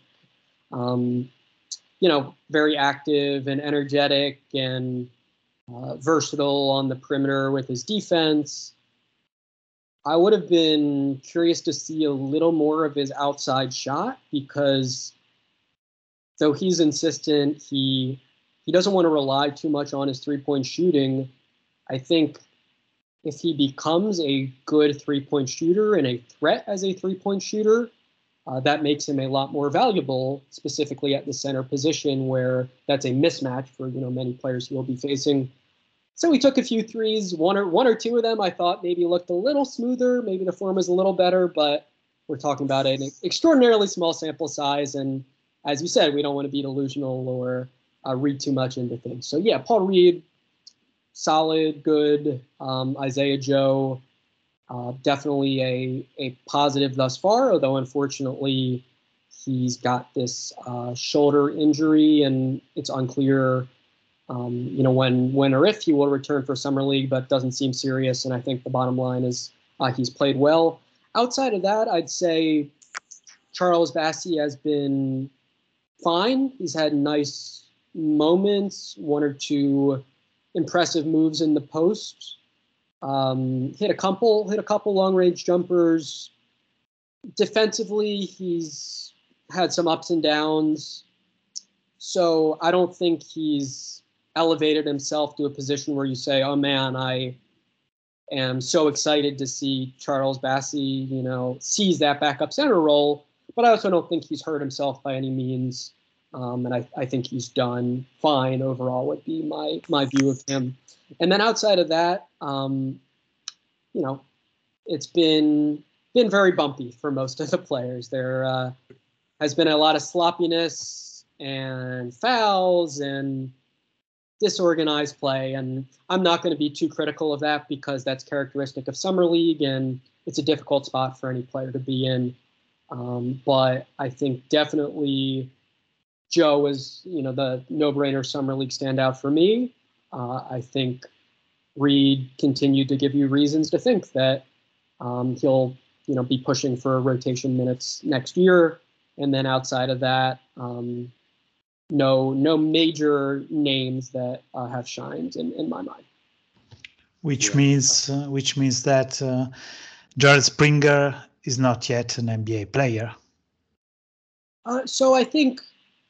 Very active and energetic and versatile on the perimeter with his defense. I would have been curious to see a little more of his outside shot because though he's insistent, he doesn't want to rely too much on his three-point shooting. I think if he becomes a good three-point shooter and a threat as a three-point shooter, that makes him a lot more valuable, specifically at the center position where that's a mismatch for many players he will be facing. So he took a few threes, one or two of them I thought maybe looked a little smoother, maybe the form was a little better, but we're talking about an extraordinarily small sample size, and as you said, we don't want to be delusional or read too much into things. So yeah, Paul Reed, solid, good. Isaiah Joe, definitely a positive thus far, although unfortunately he's got this shoulder injury and it's unclear when or if he will return for Summer League, but doesn't seem serious. And I think the bottom line is he's played well. Outside of that, I'd say Charles Bassey has been fine. He's had nice moments, one or two impressive moves in the post. Hit a couple long-range jumpers. Defensively, he's had some ups and downs. So I don't think he's elevated himself to a position where you say, oh man, I am so excited to see Charles Bassey, seize that backup center role. But I also don't think he's hurt himself by any means. And I think he's done fine overall would be my view of him. And then outside of that, it's been very bumpy for most of the players. There has been a lot of sloppiness and fouls and disorganized play. And I'm not going to be too critical of that because that's characteristic of Summer League and it's a difficult spot for any player to be in. But I think definitely Joe is, the no-brainer Summer League standout for me. I think Reed continued to give you reasons to think that he'll, be pushing for rotation minutes next year. And then outside of that, no major names that have shined in my mind. Which means that Jared Springer is not yet an NBA player. So I think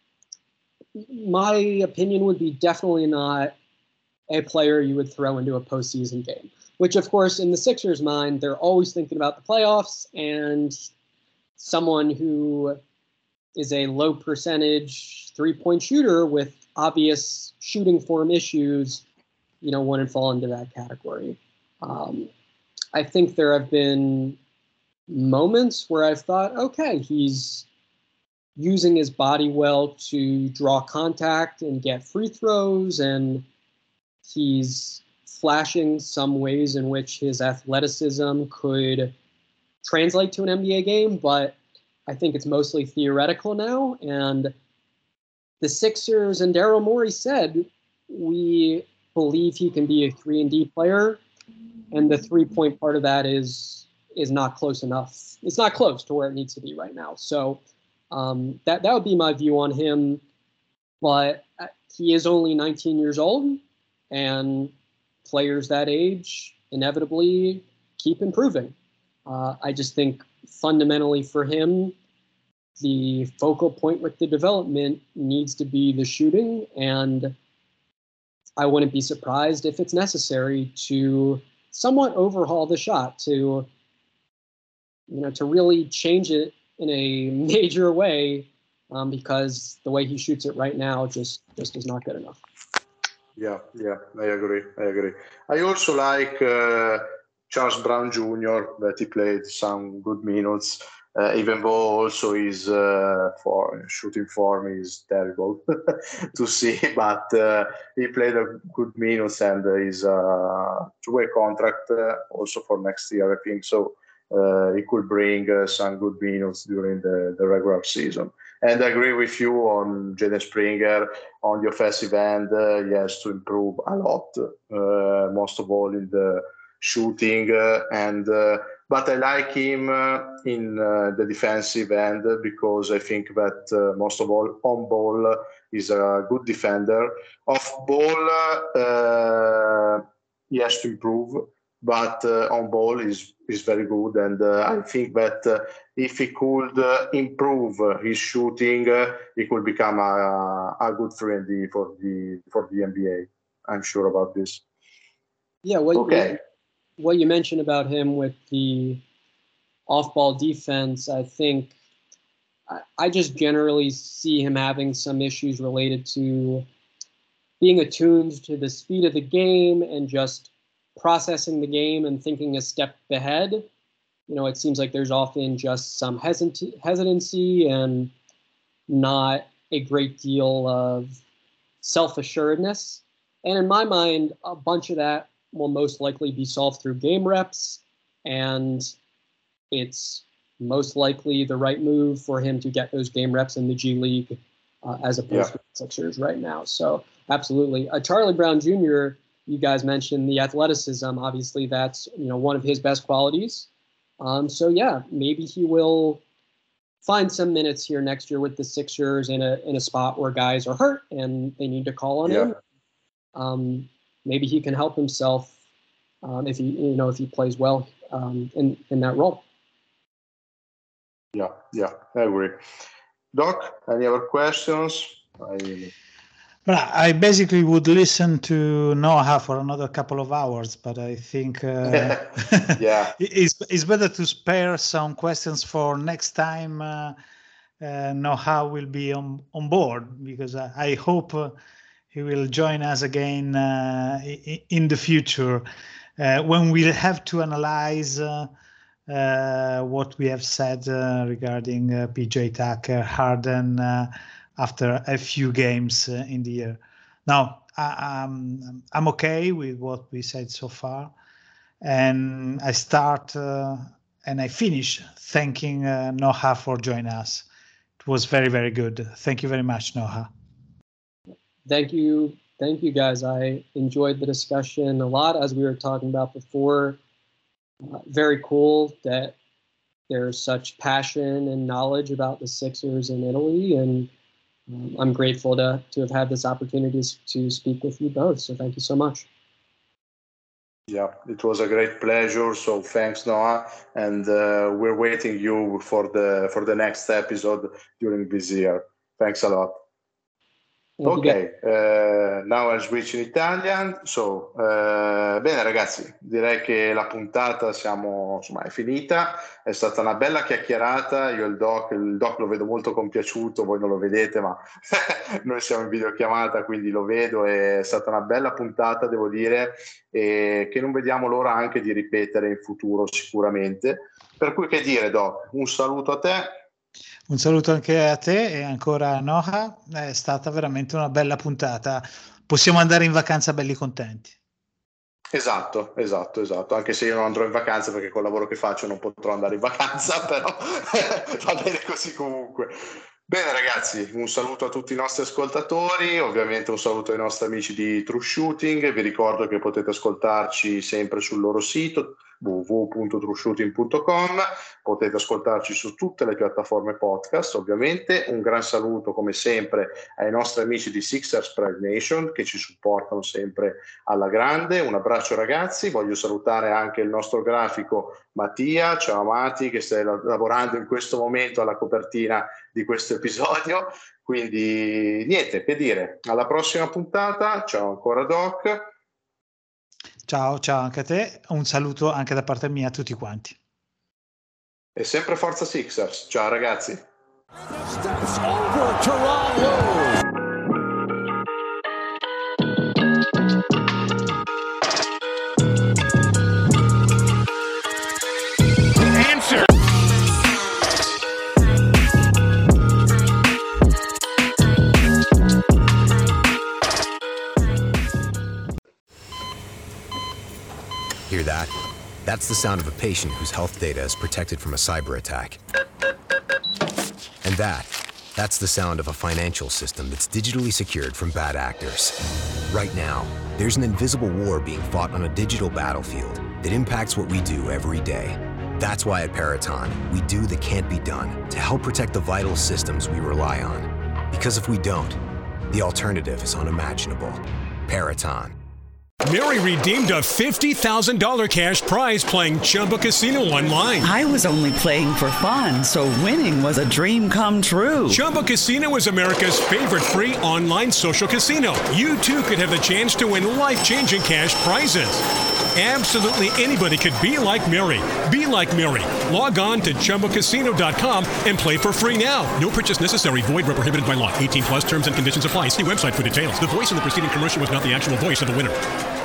my opinion would be definitely not a player you would throw into a postseason game, which of course in the Sixers' mind, they're always thinking about the playoffs and someone who is a low percentage three-point shooter with obvious shooting form issues, wouldn't fall into that category. I think there have been moments where I've thought, okay, he's using his body well to draw contact and get free throws, and he's flashing some ways in which his athleticism could translate to an NBA game, but I think it's mostly theoretical now. And the Sixers and Daryl Morey said, we believe he can be a 3-and-D player, and the three-point part of that is not close enough. It's not close to where it needs to be right now. So that would be my view on him. But he is only 19 years old, and players that age inevitably keep improving. I just think fundamentally for him, the focal point with the development needs to be the shooting, and I wouldn't be surprised if it's necessary to somewhat overhaul the shot to really change it in a major way, because the way he shoots it right now just is not good enough. Yeah, I agree. I also like Charles Brown Jr. that he played some good minutes, even though also his shooting form is terrible to see, but he played a good minutes and his two-way contract also for next year, I think. So he could bring some good minutes during the regular season. And I agree with you on Jaden Springer on the offensive end. He has to improve a lot, most of all in the shooting. But I like him in the defensive end because I think that most of all on ball is a good defender. Off ball, he has to improve, but on ball is very good. And I think that if he could improve his shooting, he could become a good friend for the NBA. I'm sure about this. Yeah. What you mentioned about him with the off-ball defense, I think I just generally see him having some issues related to being attuned to the speed of the game and just processing the game and thinking a step ahead. You know, it seems like there's often just some hesitancy and not a great deal of self-assuredness. And in my mind, a bunch of that will most likely be solved through game reps, and it's most likely the right move for him to get those game reps in the G League as opposed to the Sixers right now. So absolutely. Charlie Brown Jr., you guys mentioned the athleticism. Obviously, that's one of his best qualities. So yeah, maybe he will find some minutes here next year with the Sixers in a spot where guys are hurt and they need to call on him. Maybe he can help himself if he plays well in that role. Yeah, I agree. Doc, any other questions? I basically would listen to Noah for another couple of hours, but I think it's better to spare some questions for next time Noah will be on board, because I hope he will join us again in the future when we'll have to analyze what we have said regarding PJ Tucker, Harden, after a few games in the year. Now, I'm okay with what we said so far, and I start and I finish thanking Noah for joining us. It was very, very good. Thank you very much, Noah. Thank you, guys. I enjoyed the discussion a lot, as we were talking about before. Very cool that there's such passion and knowledge about the Sixers in Italy, and I'm grateful to have had this opportunity to speak with you both. So thank you so much. Yeah, it was a great pleasure. So thanks, Noah, and we're waiting you for the next episode during this year. Thanks a lot. Ok, now I'll switch in Italian. So, bene ragazzi, direi che la puntata è finita. È stata una bella chiacchierata. Io il doc lo vedo molto compiaciuto, voi non lo vedete, ma noi siamo in videochiamata, quindi lo vedo. È stata una bella puntata, devo dire, e che non vediamo l'ora anche di ripetere in futuro sicuramente. Per cui che dire, Doc, un saluto a te. Un saluto anche a te e ancora a Noah. È stata veramente una bella puntata. Possiamo andare in vacanza belli contenti. Esatto. Anche se io non andrò in vacanza perché col lavoro che faccio non potrò andare in vacanza, però va bene così comunque. Bene ragazzi, un saluto a tutti i nostri ascoltatori, ovviamente un saluto ai nostri amici di True Shooting. Vi ricordo che potete ascoltarci sempre sul loro sito www.trueshooting.com, potete ascoltarci su tutte le piattaforme podcast. Ovviamente un gran saluto come sempre ai nostri amici di Sixers Pride Nation che ci supportano sempre alla grande. Un abbraccio ragazzi, voglio salutare anche il nostro grafico Mattia. Ciao Mati, che stai lavorando in questo momento alla copertina di questo episodio. Quindi niente, che dire, alla prossima puntata. Ciao ancora Doc. Ciao anche a te, un saluto anche da parte mia a tutti quanti. E sempre Forza Sixers, ciao ragazzi. Steps over Toronto. Hear that? That's the sound of a patient whose health data is protected from a cyber attack. And That's the sound of a financial system that's digitally secured from bad actors. Right now, there's an invisible war being fought on a digital battlefield that impacts what we do every day. That's why at Peraton, we do the can't be done to help protect the vital systems we rely on. Because if we don't, the alternative is unimaginable. Peraton. Mary redeemed a $50,000 cash prize playing Chumba Casino online. I was only playing for fun, so winning was a dream come true. Chumba Casino is America's favorite free online social casino. You too could have the chance to win life-changing cash prizes. Absolutely anybody could be like Mary. Be like Mary. Log on to ChumbaCasino.com and play for free now. No purchase necessary. Void where prohibited by law. 18 plus terms and conditions apply. See website for details. The voice in the preceding commercial was not the actual voice of the winner.